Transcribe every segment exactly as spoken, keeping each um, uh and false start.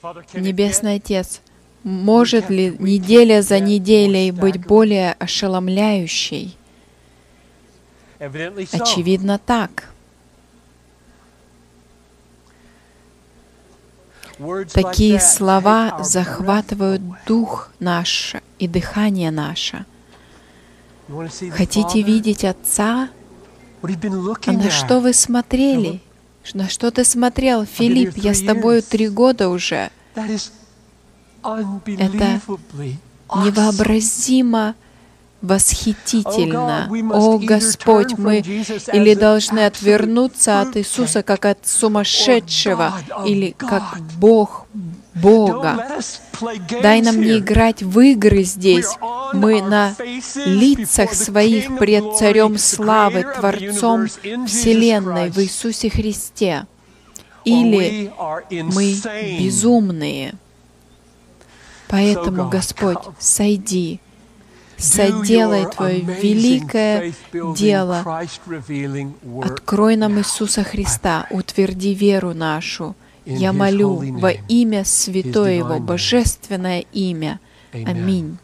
Небесный Отец, может ли неделя за неделей быть более ошеломляющей? Очевидно, так. Такие слова захватывают дух наш и дыхание наше. Хотите видеть Отца? А на что вы смотрели? На что ты смотрел? Филипп, я с тобою три года уже. Это невообразимо восхитительно. О, Господь, мы или должны отвернуться от Иисуса, как от сумасшедшего, или как Бог Бога. Дай нам не играть в игры здесь. Мы на лицах своих пред Царем Славы, Творцом Вселенной в Иисусе Христе. Или мы безумные. Поэтому, Господь, сойди, соделай Твое великое дело. Открой нам Иисуса Христа, утверди веру нашу. Я молю во имя Святое Его, Божественное имя. Аминь.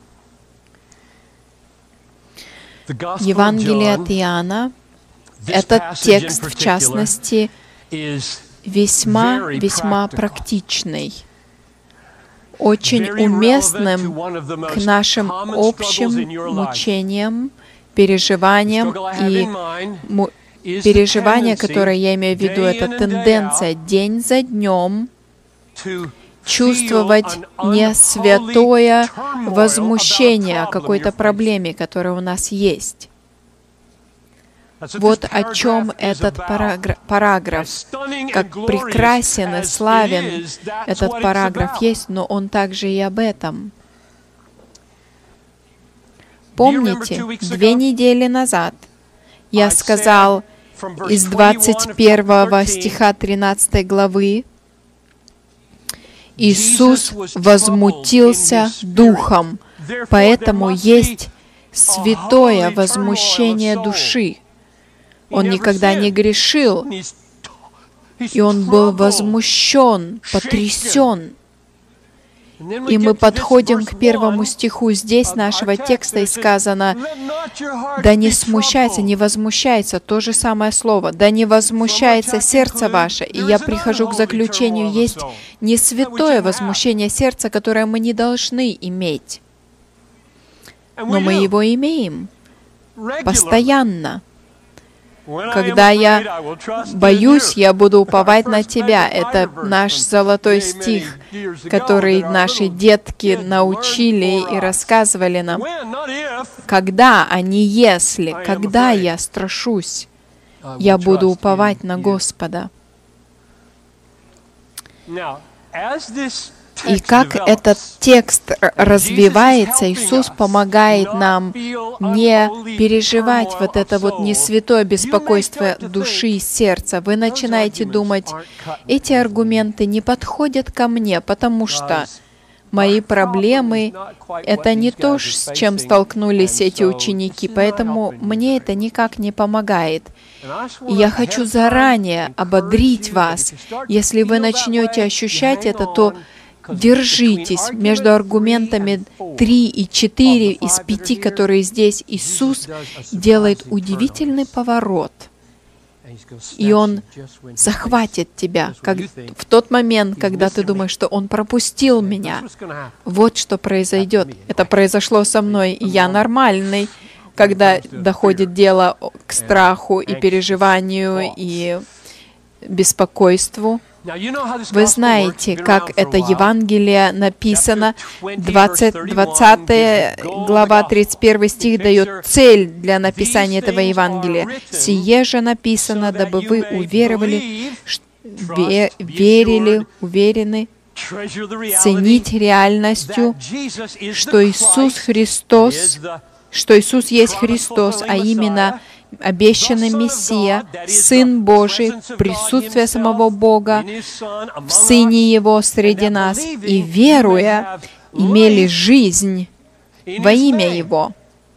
Евангелие от Иоанна, этот текст, в частности, весьма-весьма практичный, очень уместным к нашим общим мучениям, переживаниям и му- переживания, которые я имею в виду, это тенденция день за днем чувствовать не святое возмущение о какой-то проблеме, которая у нас есть. Вот о чем этот параграф, параграф. Как прекрасен и славен этот параграф есть, но он также и об этом. Помните, две недели назад я сказал из двадцать первого стиха тринадцатой главы, Иисус возмутился духом, поэтому есть святое возмущение души. Он никогда не грешил, и он был возмущен, потрясен. И мы подходим к первому стиху здесь нашего текста, и сказано: «Да не смущается, не возмущается», то же самое слово, «да не возмущается сердце ваше». И я прихожу к заключению, есть не святое возмущение сердца, которое мы не должны иметь, но мы его имеем постоянно. Когда я боюсь, я буду уповать на Тебя. Это наш золотой стих, который наши детки научили и рассказывали нам. Когда, а не если, когда я страшусь, я буду уповать на Господа. И как этот текст развивается, Иисус помогает нам не переживать вот это вот несвятое беспокойство души и сердца. Вы начинаете думать, эти аргументы не подходят ко мне, потому что мои проблемы — это не то, с чем столкнулись эти ученики, поэтому мне это никак не помогает. И я хочу заранее ободрить вас. Если вы начнете ощущать это, то держитесь между аргументами три и четыре из пяти, которые здесь. Иисус делает удивительный поворот, и Он захватит тебя как в тот момент, когда ты думаешь, что Он пропустил меня. Вот что произойдет. Это произошло со мной, и я нормальный, когда доходит дело к страху и переживанию и беспокойству. Вы знаете, как это Евангелие написано. двадцатая глава, тридцать первый стих дает цель для написания этого Евангелия. «Сие же написано, дабы вы уверовали, ве- верили, уверены, ценить реальностью, что Иисус Христос, что Иисус есть Христос, а именно обещанный Мессия, Сын Божий, присутствие самого Бога в Сыне Его среди нас, и, веруя, имели жизнь во имя Его».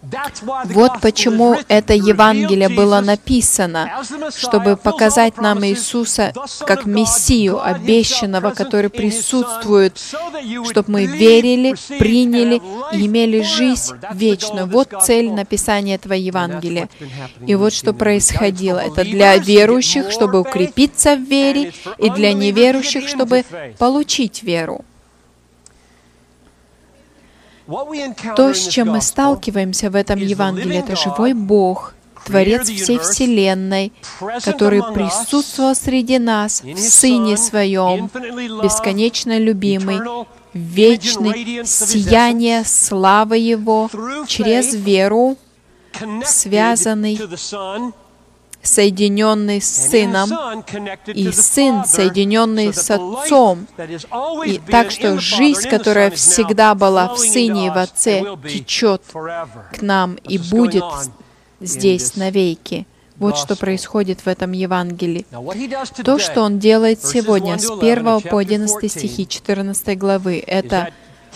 Вот почему это Евангелие было написано, чтобы показать нам Иисуса как Мессию, обещанного, который присутствует, чтобы мы верили, приняли и имели жизнь вечную. Вот цель написания этого Евангелия. И вот что происходило. Это для верующих, чтобы укрепиться в вере, и для неверующих, чтобы получить веру. То, с чем мы сталкиваемся в этом Евангелии, это живой Бог, Творец всей Вселенной, который присутствовал среди нас в Сыне Своем, бесконечно любимый, вечный, сияние славы Его, через веру, связанный, соединенный с Сыном, и Сын, соединенный с Отцом. И так что жизнь, которая всегда была в Сыне и в Отце, течет к нам и будет здесь навеки. Вот что происходит в этом Евангелии. То, что Он делает сегодня, с первого по одиннадцатый стихи четырнадцатой главы, это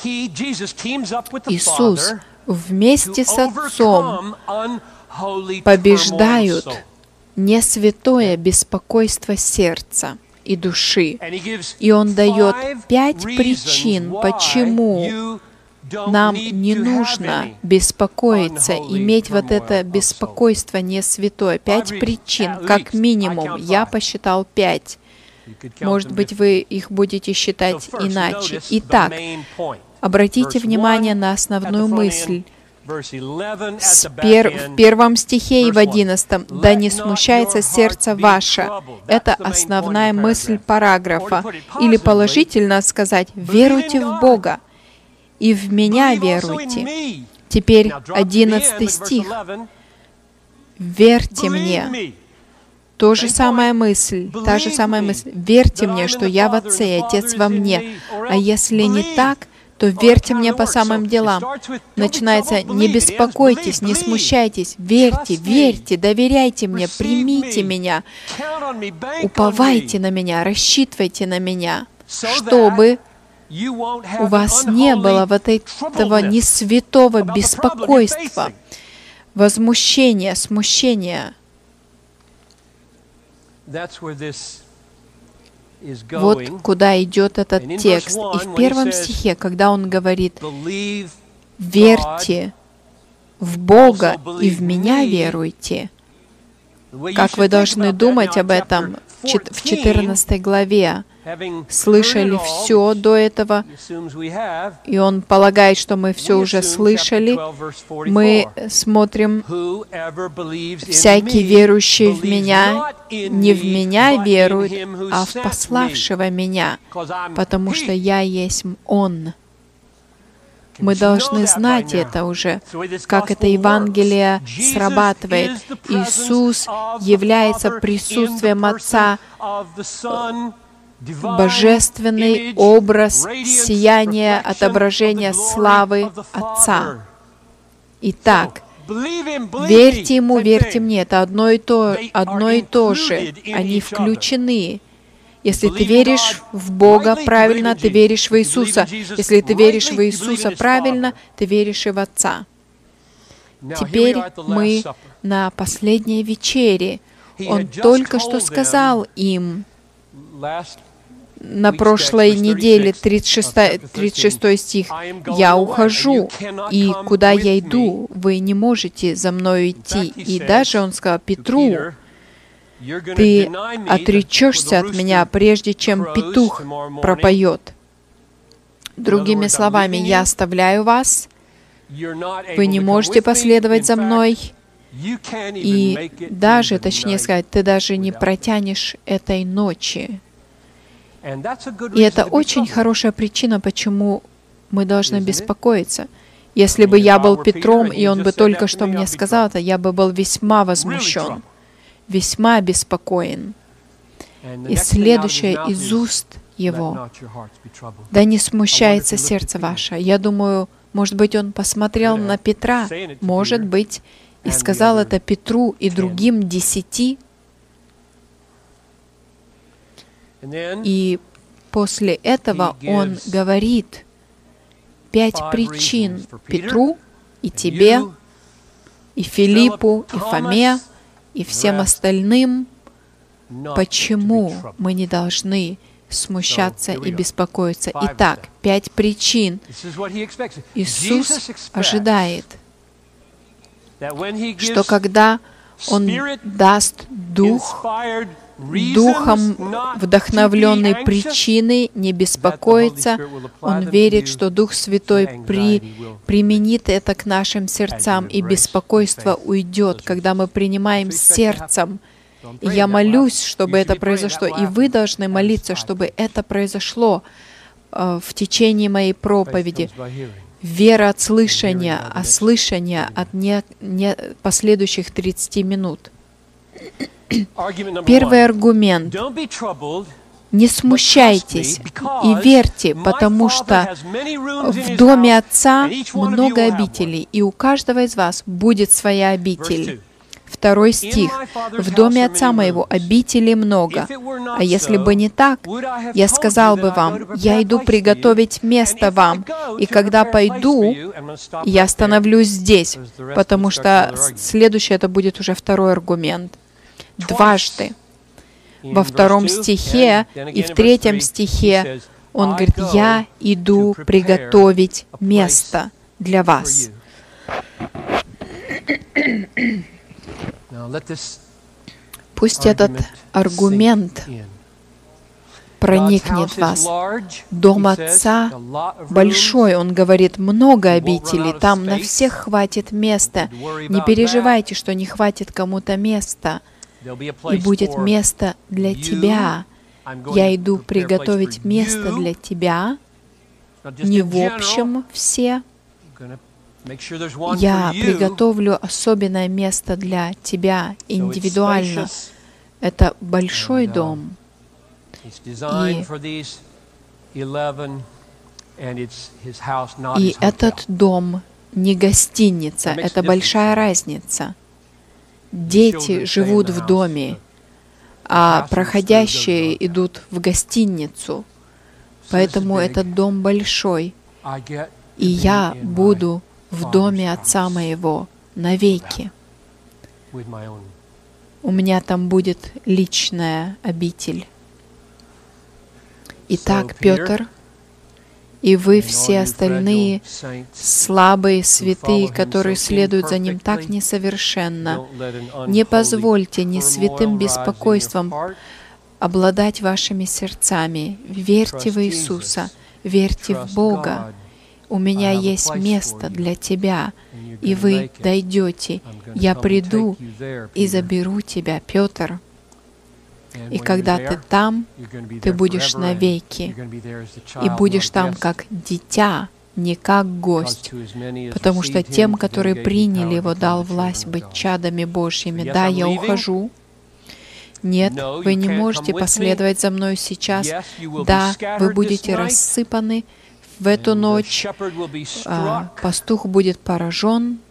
Иисус вместе с Отцом побеждают не святое беспокойство сердца и души. И Он дает пять причин, почему нам не нужно беспокоиться, иметь вот это беспокойство не святое. Пять причин, как минимум. Я посчитал пять. Может быть, вы их будете считать иначе. Итак, обратите внимание на основную мысль. С пер... В первом стихе и в одиннадцатом. «Да не смущается сердце ваше». Это основная мысль параграфа. Или положительно сказать, веруйте в Бога и в Меня веруйте. Теперь одиннадцатый стих. «Верьте Мне». То же самая мысль, та же самая мысль. «Верьте Мне, что Я в Отце, и Отец во Мне». А если не так, то верьте Мне по самым делам. Начинается, не беспокойтесь, не смущайтесь, верьте, верьте, доверяйте Мне, примите Меня, уповайте на Меня, рассчитывайте на Меня, чтобы у вас не было вот этого несвятого беспокойства, возмущения, смущения. Вот куда идет этот текст. И в первом стихе, когда он говорит, «Верьте в Бога и в Меня веруйте», как вы должны думать об этом в четырнадцатой главе. Слышали все до этого, и он полагает, что мы все уже слышали. Мы смотрим, «Всякий верующий в Меня не в Меня верует, а в пославшего Меня, потому что Я есть Он». Мы должны знать это уже, как это Евангелие срабатывает. Иисус является присутствием Отца, божественный образ, сияние, отображение славы Отца. Итак, верьте Ему, верьте Мне. Это одно и то, одно и то же. Они включены. Если ты веришь в Бога правильно, ты веришь в Иисуса. Если ты веришь в Иисуса правильно, ты веришь и в Отца. Теперь мы на последней вечере. Он только что сказал им, на прошлой неделе, тридцать шестой стих, «Я ухожу, и куда я иду, вы не можете за мною идти». И даже он сказал Петру, «Ты отречешься от Меня, прежде чем петух пропоет». Другими словами, «Я оставляю вас, вы не можете последовать за Мной, и даже, точнее сказать, ты даже не протянешь этой ночи». И это очень хорошая причина, почему мы должны беспокоиться. Если бы я был Петром, и он бы только что мне сказал это, я бы был весьма возмущен, весьма обеспокоен. И следующее из уст его: «Да не смущается сердце ваше». Я думаю, может быть, он посмотрел на Петра, может быть, и сказал это Петру и другим десяти. И после этого он говорит пять причин Петру и тебе и Филиппу, и Фоме, и всем остальным, почему мы не должны смущаться и беспокоиться. Итак, пять причин. Иисус ожидает, что когда Он даст Дух, Духом вдохновленной причины не беспокоиться, Он верит, что Дух Святой при, применит это к нашим сердцам, и беспокойство уйдет, когда мы принимаем сердцем. И я молюсь, чтобы это произошло, и вы должны молиться, чтобы это произошло э, в течение моей проповеди. Вера от слышания, а слышание от не, не последующих тридцати минут. Первый аргумент. Не смущайтесь и верьте, потому что в доме Отца много обителей, и у каждого из вас будет своя обитель. Второй стих. «В доме Отца моего обителей много, а если бы не так, я сказал бы вам, я иду приготовить место вам, и когда пойду, я остановлюсь здесь», потому что следующее это будет уже второй аргумент. Дважды. Во втором стихе и в третьем стихе он говорит, «Я иду приготовить место для вас». Пусть этот аргумент проникнет в вас. Дом Отца большой, Он говорит, много обителей, там на всех хватит места. Не переживайте, что не хватит кому-то места. И будет место для тебя. Я иду приготовить место для тебя, не в общем все. Я приготовлю особенное место для тебя, индивидуально. Это большой дом. И, и этот дом не гостиница, это большая разница. Дети живут в доме, а проходящие идут в гостиницу. Поэтому этот дом большой. И я буду в доме Отца моего навеки. У меня там будет личная обитель. Итак, Петр, и вы все остальные слабые святые, которые следуют за Ним так несовершенно, не позвольте ни святым беспокойством обладать вашими сердцами. Верьте в Иисуса, верьте в Бога. У меня есть место для тебя, и вы дойдете. Я приду и заберу тебя, Петр. И когда ты там, ты будешь навеки, и будешь там как дитя, не как гость, потому что тем, которые приняли Его, дал власть быть чадами Божьими. Да, я ухожу. Нет, вы не можете последовать за мной сейчас. Да, вы будете рассыпаны в эту ночь, а, пастух будет поражен,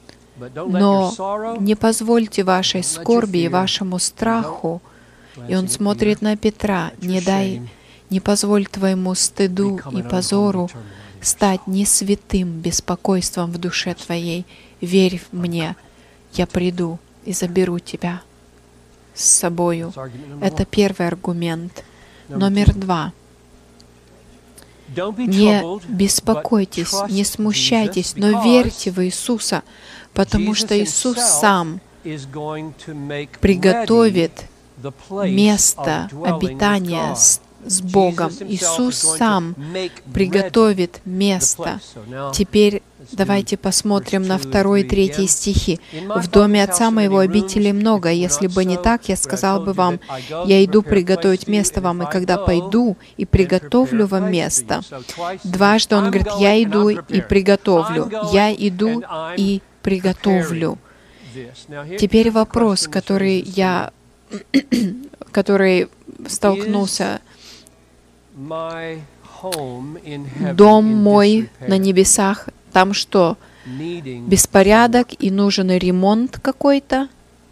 но не позвольте вашей скорби и вашему страху. И он смотрит на Петра, не дай, не позволь твоему стыду и позору стать не святым беспокойством в душе твоей. Верь в мне, я приду и заберу тебя с собою. Это первый аргумент. Номер два. Не беспокойтесь, не смущайтесь, но верьте в Иисуса, потому что Иисус Сам приготовит место обитания с, с Богом. Иисус Сам приготовит место. Теперь давайте посмотрим на второй и третий стихи. «В доме Отца моего обителей много. Если бы не так, я сказал бы вам, я иду приготовить место вам, и когда пойду и приготовлю вам место». Дважды Он говорит, я иду и приготовлю. Я иду и приготовлю. Теперь вопрос, который я который столкнулся. Дом мой на небесах, там что? Беспорядок и нужен ремонт какой-то?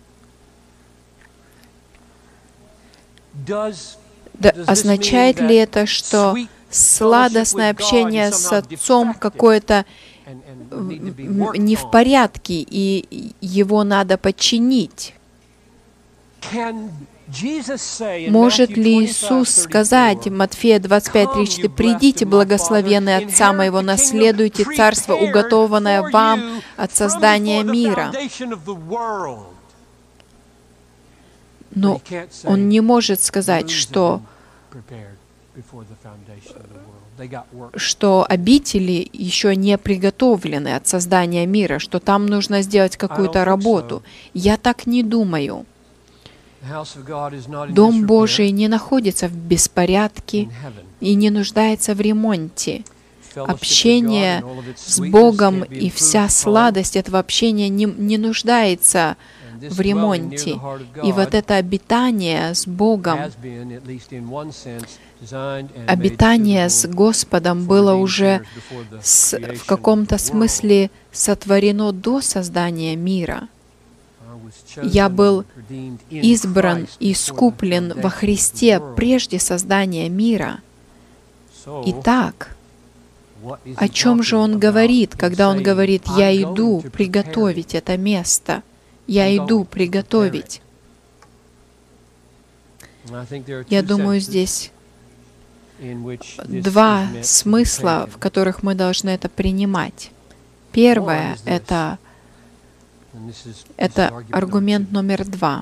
Да, означает ли это, что сладостное общение с Отцом какое-то не в порядке, и его надо подчинить. Может ли Иисус сказать в Матфея двадцать пять тридцать четыре: «Придите, благословенные Отца Моего, наследуйте царство, уготованное вам от создания мира»? Но Он не может сказать, что, что обители еще не приготовлены от создания мира, что там нужно сделать какую-то работу. Я так не думаю. Дом Божий не находится в беспорядке и не нуждается в ремонте. Общение с Богом и вся сладость этого общения не, не нуждается в ремонте. И вот это обитание с Богом, обитание с Господом было уже с, в каком-то смысле сотворено до создания мира. Я был избран и искуплен во Христе прежде создания мира. Итак, о чем же Он говорит, когда Он говорит: «Я иду приготовить это место, я иду приготовить»? Я думаю, здесь два смысла, в которых мы должны это принимать. Первое — это Это аргумент номер два.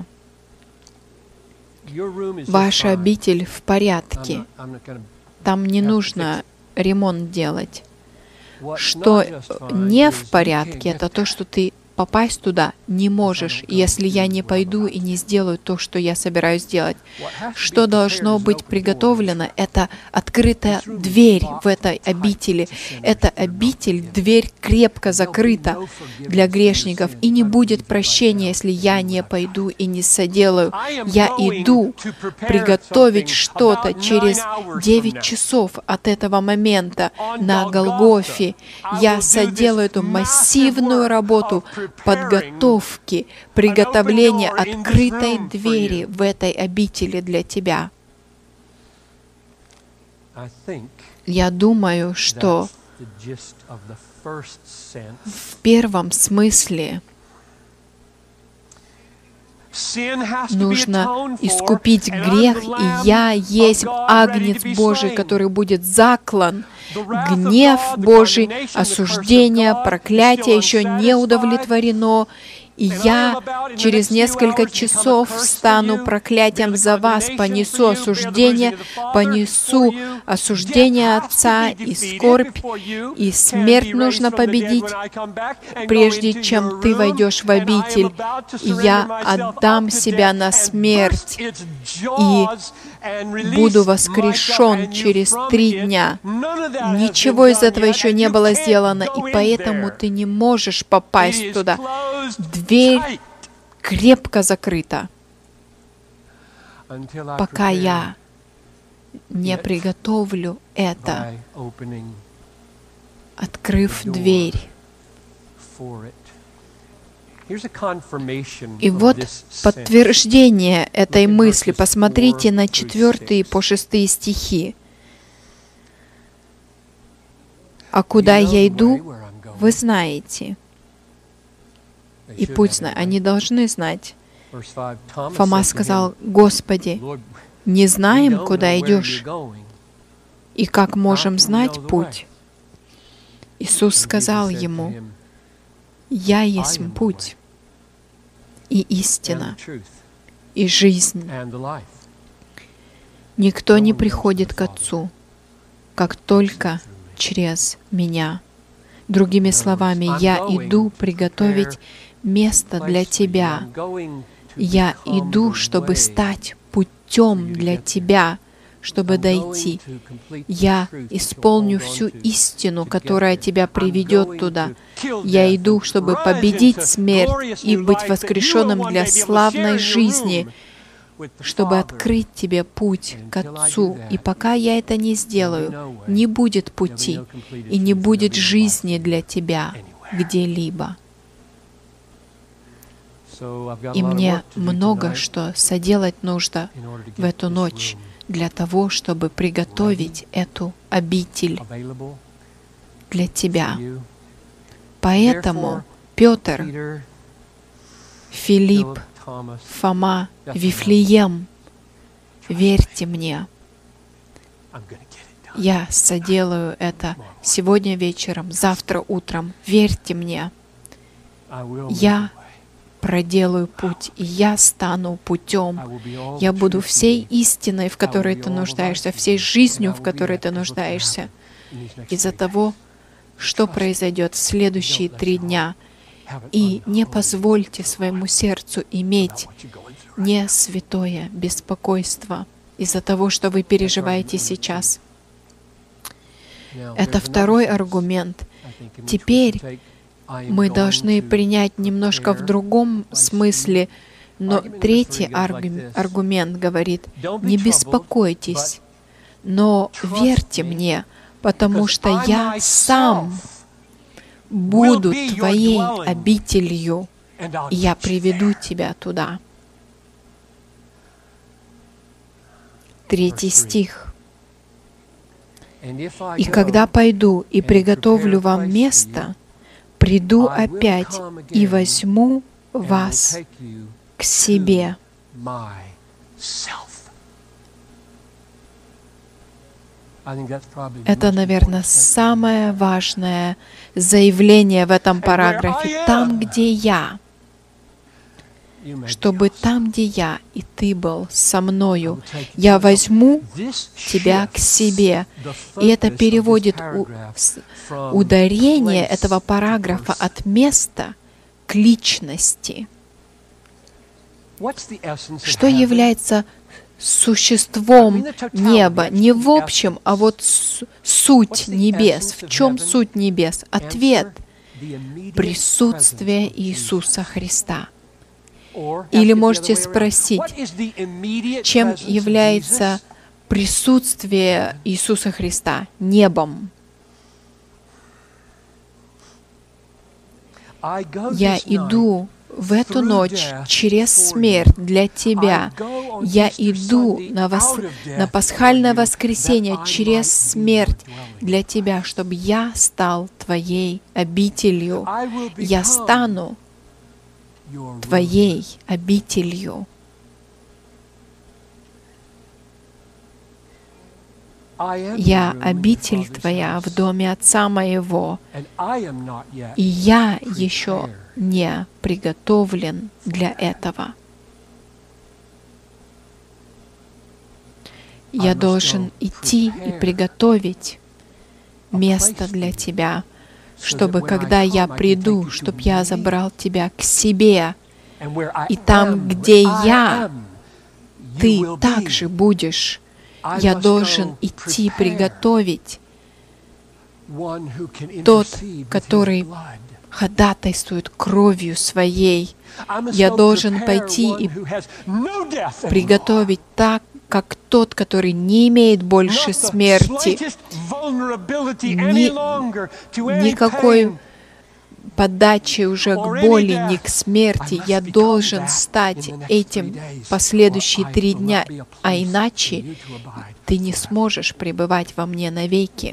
Ваша обитель в порядке. Там не нужно ремонт делать. Что не в порядке, это то, что ты попасть туда не можешь, если я не пойду и не сделаю то, что я собираюсь сделать. Что должно быть приготовлено? Это открытая дверь в этой обители. Эта обитель, дверь крепко закрыта для грешников, и не будет прощения, если я не пойду и не соделаю. Я иду приготовить что-то через девять часов от этого момента на Голгофе. Я соделаю эту массивную работу подготовки, приготовления открытой двери в этой обители для тебя. Я думаю, что в первом смысле нужно искупить грех, и я есть Агнец Божий, который будет заклан. Гнев Божий, осуждение, проклятие еще не удовлетворено, и я через несколько часов стану проклятием за вас, понесу осуждение, понесу осуждение Отца и скорбь, и смерть нужно победить, прежде чем ты войдешь в обитель, и я отдам себя на смерть, и буду воскрешен через три дня. Ничего из этого еще не было сделано, и поэтому ты не можешь попасть туда. Дверь крепко закрыта, пока я не приготовлю это, открыв дверь. И вот подтверждение этой мысли. Посмотрите на четвертые по шестые стихи. «А куда я иду, вы знаете». И путь знает. Они должны знать. Фома сказал: «Господи, не знаем, куда идешь, и как можем знать путь?» Иисус сказал ему: «Я есть путь, и истина, и жизнь. Никто не приходит к Отцу, как только через Меня». Другими словами, я иду приготовить место для тебя. Я иду, чтобы стать путем для тебя, чтобы дойти. Я исполню всю истину, которая тебя приведет туда. Я иду, чтобы победить смерть и быть воскрешенным для славной жизни, чтобы открыть тебе путь к Отцу. И пока я это не сделаю, не будет пути и не будет жизни для тебя где-либо. И мне много что соделать нужно в эту ночь для того, чтобы приготовить эту обитель для тебя. Поэтому Петр, Филипп, Фома, Вифлеем, верьте мне, я соделаю это сегодня вечером, завтра утром. Верьте мне, я проделаю путь, и я стану путем. Я буду всей истиной, в которой ты нуждаешься, всей жизнью, в которой ты нуждаешься. Из-за того, что произойдет в следующие три дня. И не позвольте своему сердцу иметь не святое беспокойство из-за того, что вы переживаете сейчас. Это второй аргумент. Теперь мы должны принять немножко в другом смысле, но третий аргумент говорит: не беспокойтесь, но верьте мне, потому что я сам буду твоей обителью, и я приведу тебя туда. Третий стих. «И когда пойду и приготовлю вам место, приду опять и возьму вас к себе». Это, наверное, самое важное заявление в этом параграфе. Там, где я, чтобы там, где я, и ты был со мною, я возьму тебя к себе. И это переводит у, ударение этого параграфа от места к личности. Что является существом неба? Не в общем, а вот суть небес. В чем суть небес? Ответ — присутствие Иисуса Христа. Или можете спросить, чем является присутствие Иисуса Христа? Небом. Я иду в эту ночь через смерть для тебя. Я иду на, вос... на пасхальное воскресенье через смерть для тебя, чтобы я стал твоей обителью. Я стану твоей обителью. Я обитель твоя в доме Отца моего, и я еще не приготовлен для этого. Я должен идти и приготовить место для тебя, чтобы когда я приду, чтобы я забрал тебя к себе, и там, где я, ты также будешь. Я должен идти приготовить тот, который ходатайствует кровью своей. Я должен пойти и приготовить так, как тот, который не имеет больше смерти, ни, никакой подачи уже к боли, ни к смерти. Я должен стать этим последующие три дня, а иначе ты не сможешь пребывать во мне навеки.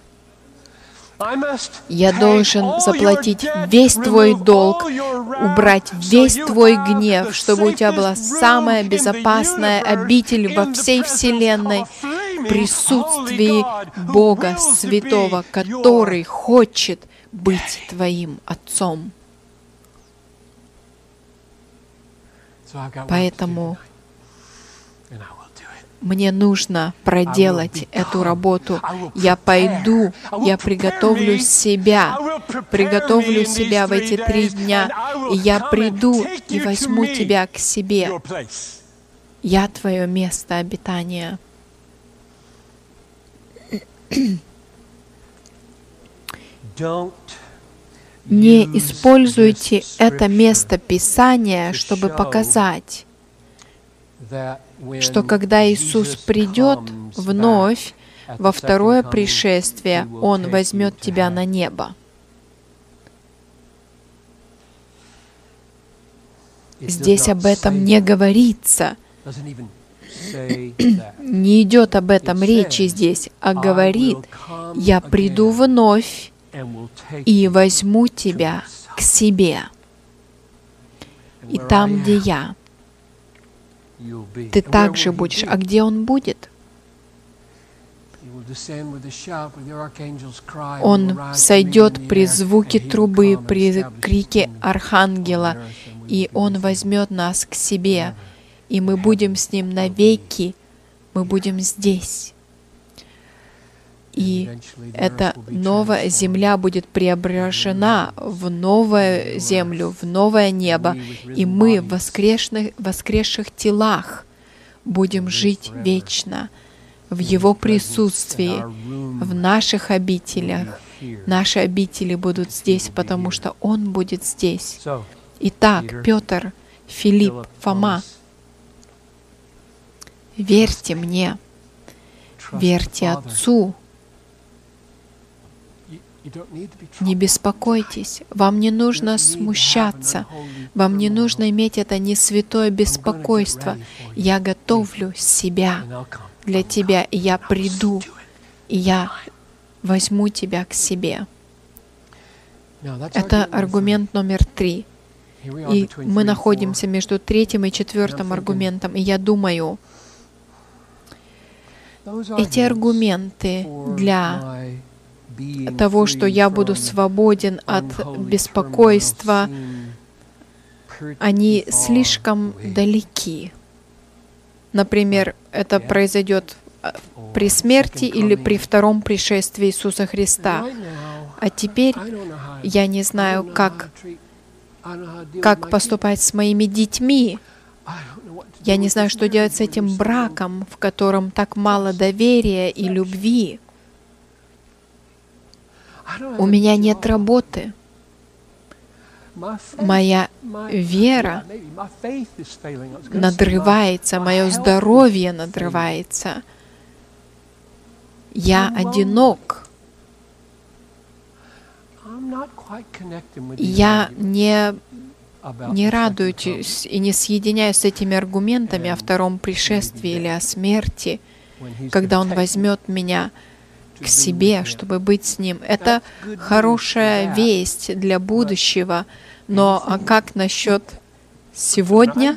Я должен заплатить весь твой долг, убрать весь твой гнев, чтобы у тебя была самая безопасная обитель во всей вселенной, в присутствии Бога Святого, который хочет быть твоим Отцом. Поэтому мне нужно проделать эту работу. Я пойду, я приготовлю себя, приготовлю себя в эти три дня, и я приду и возьму тебя к себе. Я твое место обитания. Не используйте это место Писания, чтобы показать, что когда Иисус придет вновь во второе пришествие, Он возьмет тебя на небо. Здесь об этом не говорится. Не идет об этом речи здесь, а говорит: «Я приду вновь и возьму тебя к себе. И там, где я, ты также будешь. А где Он будет? Он сойдет при звуке трубы, при крике архангела, и Он возьмет нас к себе, и мы будем с Ним навеки, мы будем здесь. И эта новая земля будет преображена в новую землю, в новое небо, и мы в воскресных, воскресших телах будем жить вечно в Его присутствии, в наших обителях. Наши обители будут здесь, потому что Он будет здесь. Итак, Петр, Филипп, Фома, верьте мне, верьте Отцу. Не беспокойтесь, вам не нужно смущаться, вам не нужно иметь это несвятое беспокойство. Я готовлю себя для тебя, и я приду, и я возьму тебя к себе. Это аргумент номер три. И мы находимся между третьим и четвертым аргументом, и я думаю, эти аргументы для того, что я буду свободен от беспокойства, они слишком далеки. Например, это произойдет при смерти или при втором пришествии Иисуса Христа. А теперь я не знаю, как, как поступать с моими детьми. Я не знаю, что делать с этим браком, в котором так мало доверия и любви. У меня нет работы. Моя вера надрывается, мое здоровье надрывается. Я одинок. Я не, не радуюсь и не соединяюсь с этими аргументами о втором пришествии или о смерти, когда Он возьмет меня к себе, чтобы быть с Ним. Это хорошая весть для будущего, но а как насчет сегодня?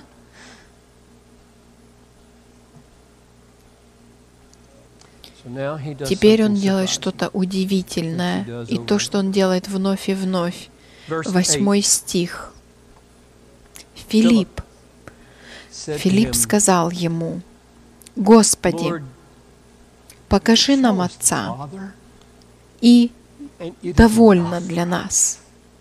Теперь Он делает что-то удивительное, и то, что Он делает вновь и вновь. Восьмой стих. Филипп. Филипп сказал Ему: «Господи, покажи нам Отца, и довольно для нас».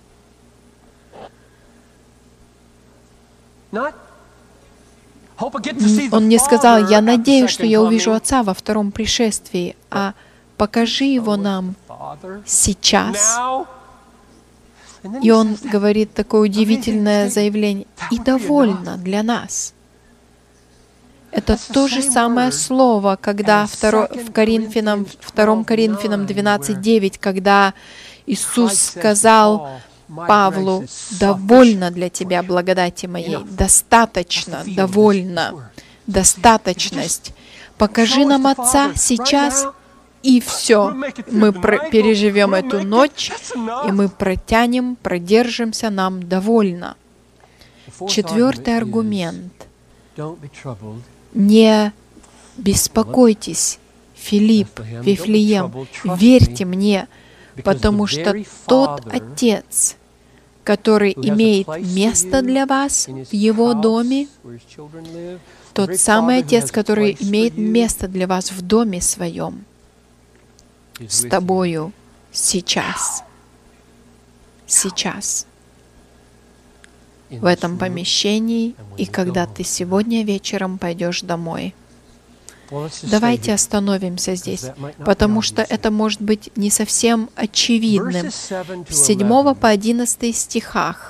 Он не сказал: «Я надеюсь, что я увижу Отца во втором пришествии», а «покажи Его нам сейчас». И Он говорит такое удивительное заявление: «И довольно для нас». Это то же самое слово, когда в Коринфянам, втором Коринфянам двенадцать девять, когда Иисус сказал Павлу: «Довольно для тебя благодати моей, достаточно, довольно, достаточность. Покажи нам Отца сейчас, и все. Мы переживем эту ночь, и мы протянем, продержимся, нам довольно». Четвертый аргумент. Не беспокойтесь, Филипп, Вифлеем, верьте мне, потому что тот Отец, который имеет место для вас в Его доме, тот самый Отец, который имеет место для вас в доме своем, с тобою сейчас. Сейчас. В этом помещении, и когда ты сегодня вечером пойдешь домой. Давайте остановимся здесь, потому что это может быть не совсем очевидным. С седьмого по одиннадцатый стихах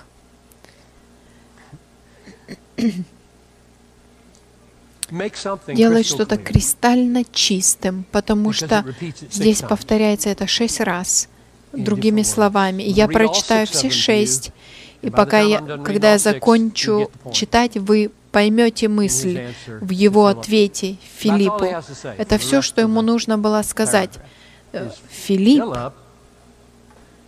делает что-то кристально чистым, потому что здесь повторяется это шесть раз, другими словами. И я прочитаю все шесть, и пока я, когда я закончу читать, вы поймете мысль в его ответе Филиппу. Это все, что ему нужно было сказать. Филипп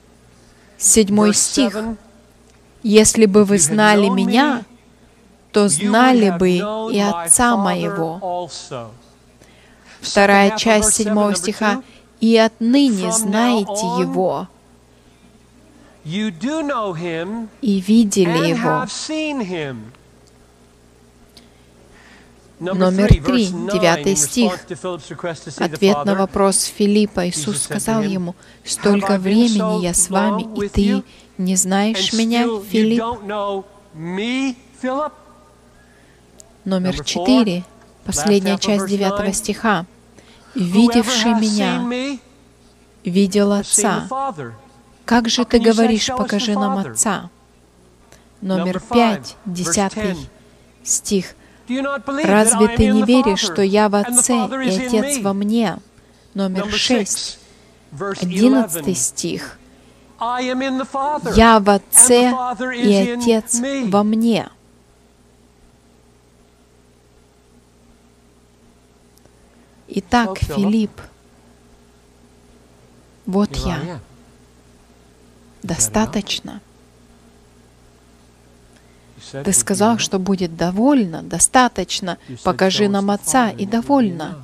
Седьмой стих. «Если бы вы знали Меня, то знали бы и Отца Моего». Вторая часть седьмого стиха. «И отныне знаете Его, и видели Его». Номер три, девятый стих. Ответ на вопрос Филиппа. Иисус сказал ему: «Столько времени я с вами, и ты не знаешь Меня, Филипп?» Номер четыре, последняя часть девятого стиха. «Видевший Меня, видел Отца. Как же ты говоришь, покажи нам Отца?» Номер пять, десятый стих. «Разве ты не веришь, что я в Отце и Отец во мне?» Номер шесть, одиннадцатый стих. «Я в Отце и Отец во мне». Итак, Филипп, вот я. Достаточно. Ты сказал, что будет довольно, достаточно. Покажи нам Отца, и довольно.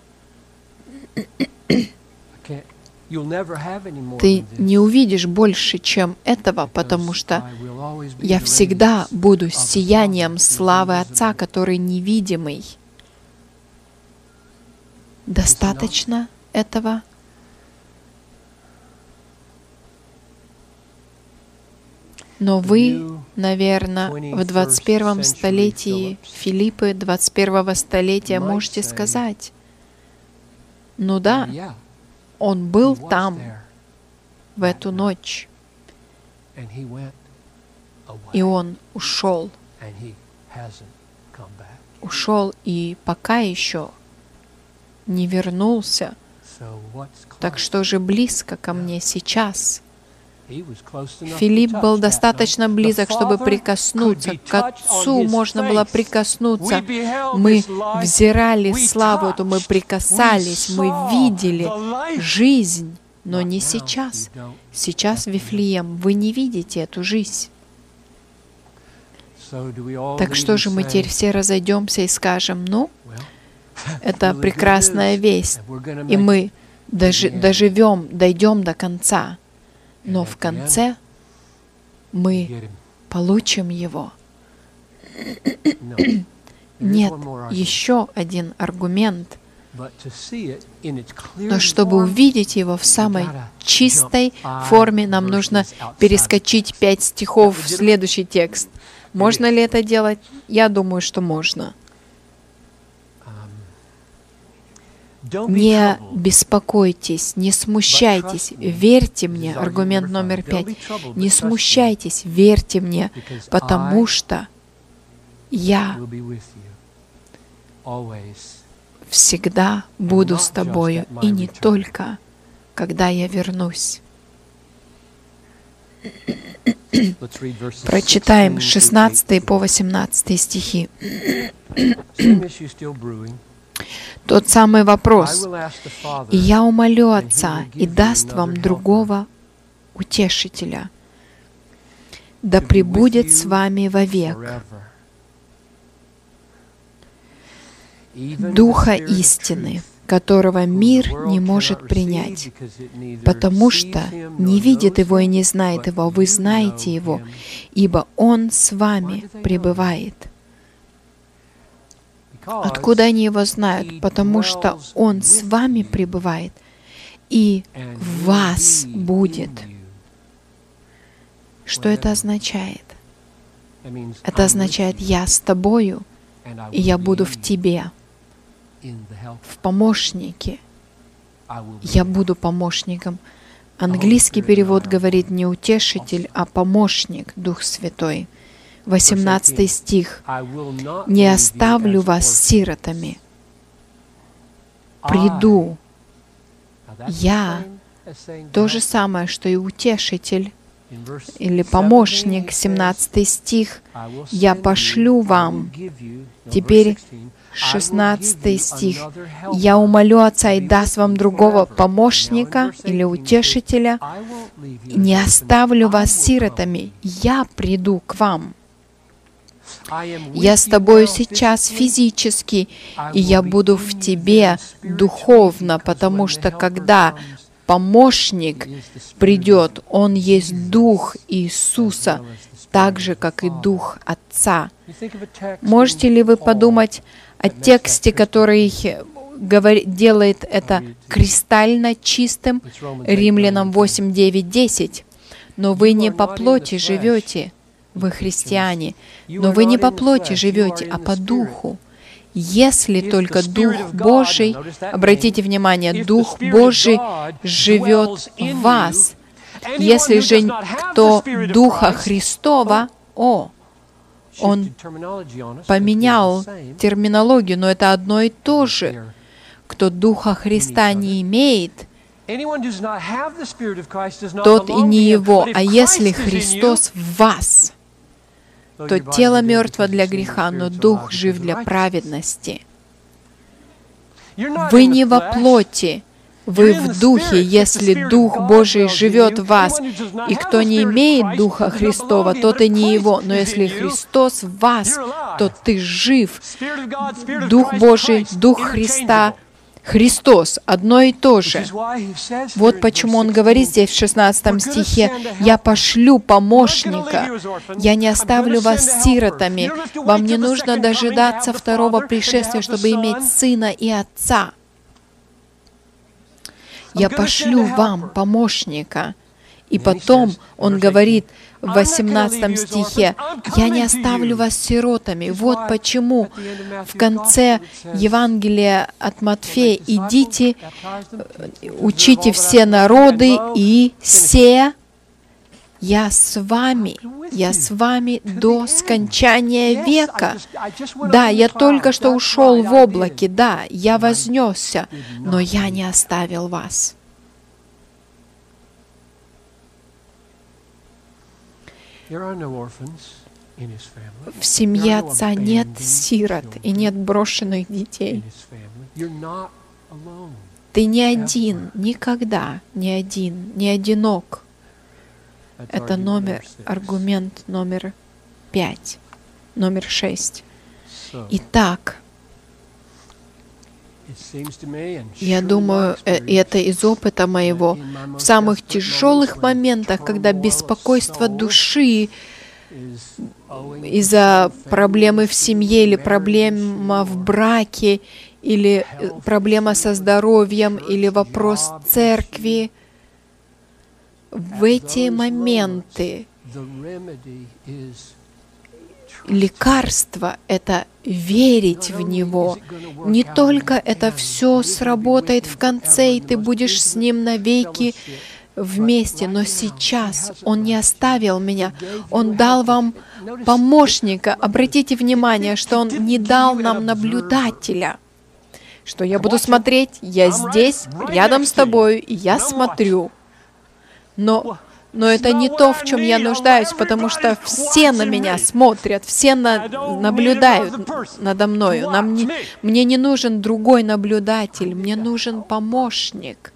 Ты не увидишь больше, чем этого, потому что я всегда буду сиянием славы Отца, который невидимый. Достаточно этого? Но вы, наверное, в двадцать первом столетии, Филиппы двадцать первого столетия, можете сказать: ну да, он был там в эту ночь, и он ушел. Ушел и пока еще не вернулся. Так что же близко ко мне сейчас? Филипп был достаточно близок, чтобы прикоснуться. К Отцу можно было прикоснуться. Мы взирали славу эту, мы прикасались, мы видели жизнь, но не сейчас. Сейчас, Вифлеем, вы не видите эту жизнь. Так что же мы теперь все разойдемся и скажем: ну, это прекрасная весть, и мы дожи- доживем, дойдем до конца. Но в конце мы получим Его. Нет, еще один аргумент. Но чтобы увидеть Его в самой чистой форме, нам нужно перескочить пять стихов в следующий текст. Можно ли это делать? Я думаю, что можно. Не беспокойтесь, не смущайтесь, верьте мне. Аргумент номер пять. Не смущайтесь, верьте мне, потому что я всегда буду с тобою, и не только, когда я вернусь. Прочитаем шестнадцатый по восемнадцатый стихи. Тот самый вопрос. «И я умолю Отца, и даст вам другого утешителя, да пребудет с вами вовек, Духа истины, которого мир не может принять, потому что не видит Его и не знает Его, вы знаете Его, ибо Он с вами пребывает». Откуда они Его знают? Потому что Он с вами пребывает и в вас будет. Что это означает? Это означает: я с тобою, и я буду в тебе, в помощнике. Я буду помощником. Английский перевод говорит не утешитель, а помощник, Дух Святой. восемнадцатый стих. «Не оставлю вас сиротами. Приду». Я то же самое, что и утешитель или помощник. семнадцатый стих. «Я пошлю вам». Теперь шестнадцатый стих. «Я умолю Отца и даст вам другого помощника или утешителя, не оставлю вас сиротами, я приду к вам. Я с тобою сейчас физически, и я буду в тебе духовно, потому что когда помощник придет, он есть Дух Иисуса, так же, как и Дух Отца. Можете ли вы подумать о тексте, который делает это кристально чистым? Римлянам восемь, девять, десять. «Но вы не по плоти живете, вы христиане, но вы не по плоти живете, а по Духу. Если только Дух Божий, обратите внимание, Дух Божий живет в вас. Если же кто Духа Христова, о, он поменял терминологию, но это одно и то же. Кто Духа Христа не имеет, тот и не его. А если Христос в вас, то тело мертво для греха, но Дух жив для праведности. Вы не во плоти, вы в Духе, если Дух Божий живет в вас. И кто не имеет Духа Христова, тот и не его. Но если Христос в вас, то ты жив. Дух Божий, Дух Христа, Христос, одно и то же. Вот почему Он говорит здесь в шестнадцатом стихе: «Я пошлю помощника, я не оставлю вас сиротами». Вам не нужно дожидаться второго пришествия, чтобы иметь сына и отца. «Я пошлю вам помощника». И потом Он говорит в восемнадцатом стихе: «Я не оставлю вас сиротами». Вот почему в конце Евангелия от Матфея: «Идите, учите все народы, и се, я с вами, я с вами до скончания века». Да, я только что ушел в облаке, да, я вознесся, но я не оставил вас. В семье отца нет сирот и нет брошенных детей. Ты не один, никогда не один, не одинок. Это номер, аргумент номер пять, номер шесть. Итак, я думаю, это из опыта моего, в самых тяжелых моментах, когда беспокойство души из-за проблемы в семье или проблема в браке, или проблема со здоровьем, или вопрос церкви, в эти моменты лекарство — это верить в Него. Не только это все сработает в конце, и ты будешь с Ним навеки вместе, но сейчас Он не оставил меня. Он дал вам помощника. Обратите внимание, что Он не дал нам наблюдателя. Что я буду смотреть, я здесь, рядом с тобой, и я смотрю. Но Но это не то, в чем я нуждаюсь, потому что все на меня смотрят, все на, наблюдают надо мною. Нам не, мне не нужен другой наблюдатель, мне нужен помощник,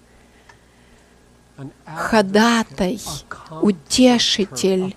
ходатай, утешитель,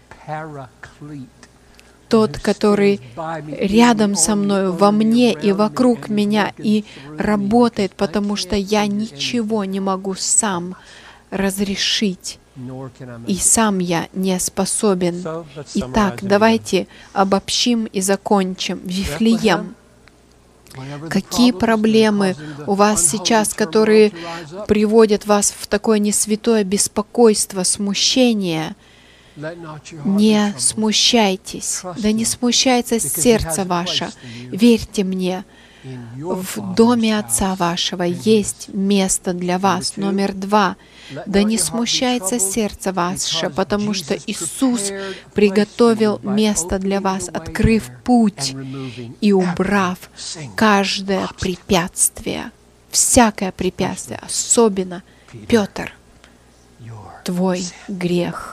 тот, который рядом со мной, во мне и вокруг меня, и работает, потому что я ничего не могу сам разрешить. И сам я не способен. Итак, давайте обобщим и закончим. Вифлеем. Какие проблемы у вас сейчас, которые приводят вас в такое несвятое беспокойство, смущение? Не смущайтесь. Да не смущается сердце ваше. Верьте мне. В доме Отца вашего есть место для вас. Номер два. Да не смущается сердце ваше, потому что Иисус приготовил место для вас, открыв путь и убрав каждое препятствие, всякое препятствие, особенно, Петр, твой грех.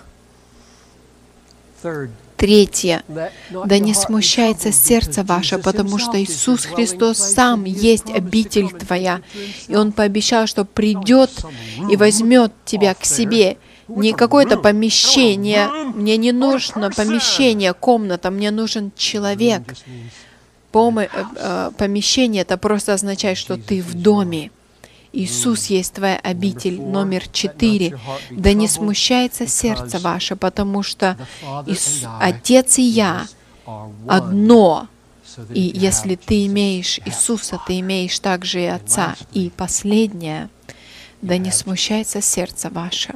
Третье. Да не смущается сердце ваше, потому что Иисус Христос сам есть обитель твоя. И Он пообещал, что придет и возьмет тебя к себе. не какое-то помещение. Мне не нужно помещение, комната, мне нужен человек. Помо- э, помещение — это просто означает, что ты в доме. Иисус есть твоя обитель. Номер четыре. Да не смущается сердце ваше, потому что Ис- Отец и я одно. И если ты имеешь Иисуса, ты имеешь также и Отца. И последнее. Да не смущается сердце ваше.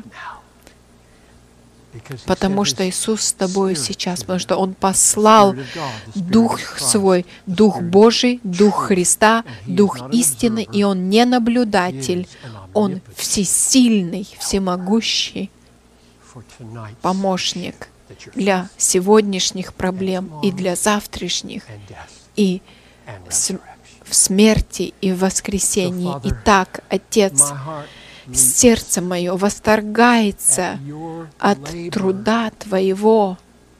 Потому что Иисус с тобой сейчас, потому что Он послал Дух Свой, Дух Божий, Дух Христа, Дух истины, и Он не наблюдатель, Он всесильный, всемогущий помощник для сегодняшних проблем и для завтрашних, и в смерти, и в воскресении. Итак, Отец, сердце мое восторгается от труда Твоего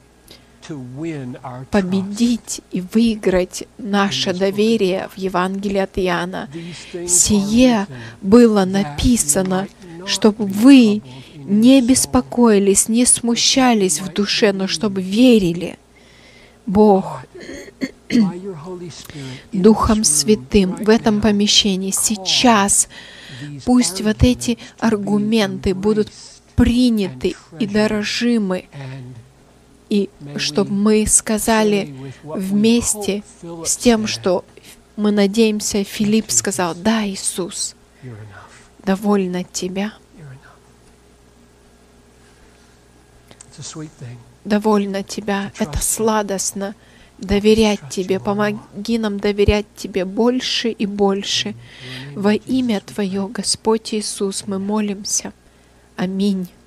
победить и выиграть наше доверие в Евангелии от Иоанна. Сие было написано, чтобы вы не беспокоились, не смущались в душе, но чтобы верили. Бог Духом Святым в этом помещении сейчас пусть вот эти аргументы будут приняты и дорожимы, и чтобы мы сказали вместе с тем, что мы надеемся, Филипп сказал: «Да, Иисус, довольно Тебя, довольно Тебя, это сладостно». Доверять Тебе, помоги нам доверять Тебе больше и больше. Во имя Твое, Господь Иисус, мы молимся. Аминь.